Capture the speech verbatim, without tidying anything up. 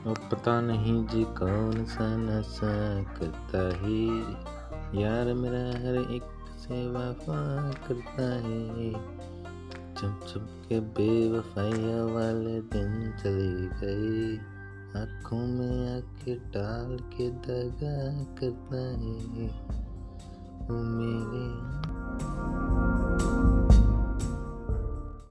वो पता नहीं जी कौन सा नशा करता है, यार मेरा हर एक से वफा करता है। चुप चुप के बेवफाइया वाले दिन चले गए, आँखों में आँखें डाल के दगा करता है वो मेरे।